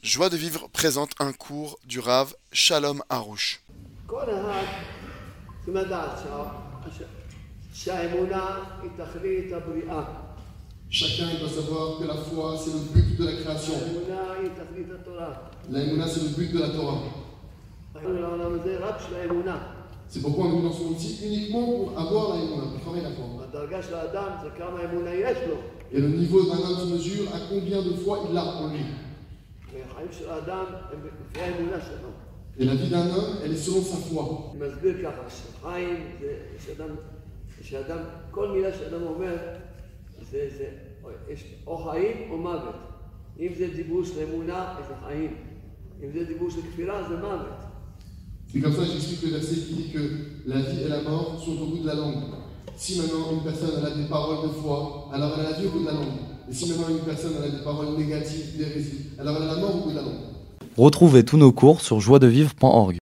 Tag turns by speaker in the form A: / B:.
A: Joie de vivre présente un cours du Rav Shalom Harouche.
B: כל אחד צריכים לדעת שהאמונה היא תכלית הבריאה.
C: Chacun doit savoir que la foi, c'est le but de la création.
B: האמונה היא תכלית התורה.
C: L'aïmouna, c'est le but de la Torah.
B: העולם הזה רק של האמונה.
C: C'est pourquoi on est dans ce monde ici uniquement pour avoir l'aïmouna, pour travailler la foi.
B: הדרגה של האדם זה כמה אמונה יש לו.
C: Et le niveau d'un homme se mesure à combien de fois il l'a en lui.
B: והחיים של האדם הם לפי האמונה שלו.
C: Et la vie d'un homme, elle est selon sa foi.
B: אני מסביר ככה, שחיים זה שאדם, כל מילה שאדם אומר, יש או חיים או מוות. אם זה דיבור של אמונה, זה חיים. אם זה דיבור של כפירה, זה מוות.
C: C'est comme ça que j'explique le verset qui dit que la vie et la mort sont au bout de la langue. Si maintenant une personne elle a des paroles de foi, alors elle a la vie au bout de la langue. Et si maintenant une personne elle a des paroles négatives, d'hérésie, alors elle a la mort au bout de la langue.
D: Retrouvez tous nos cours sur joiedevivre.org.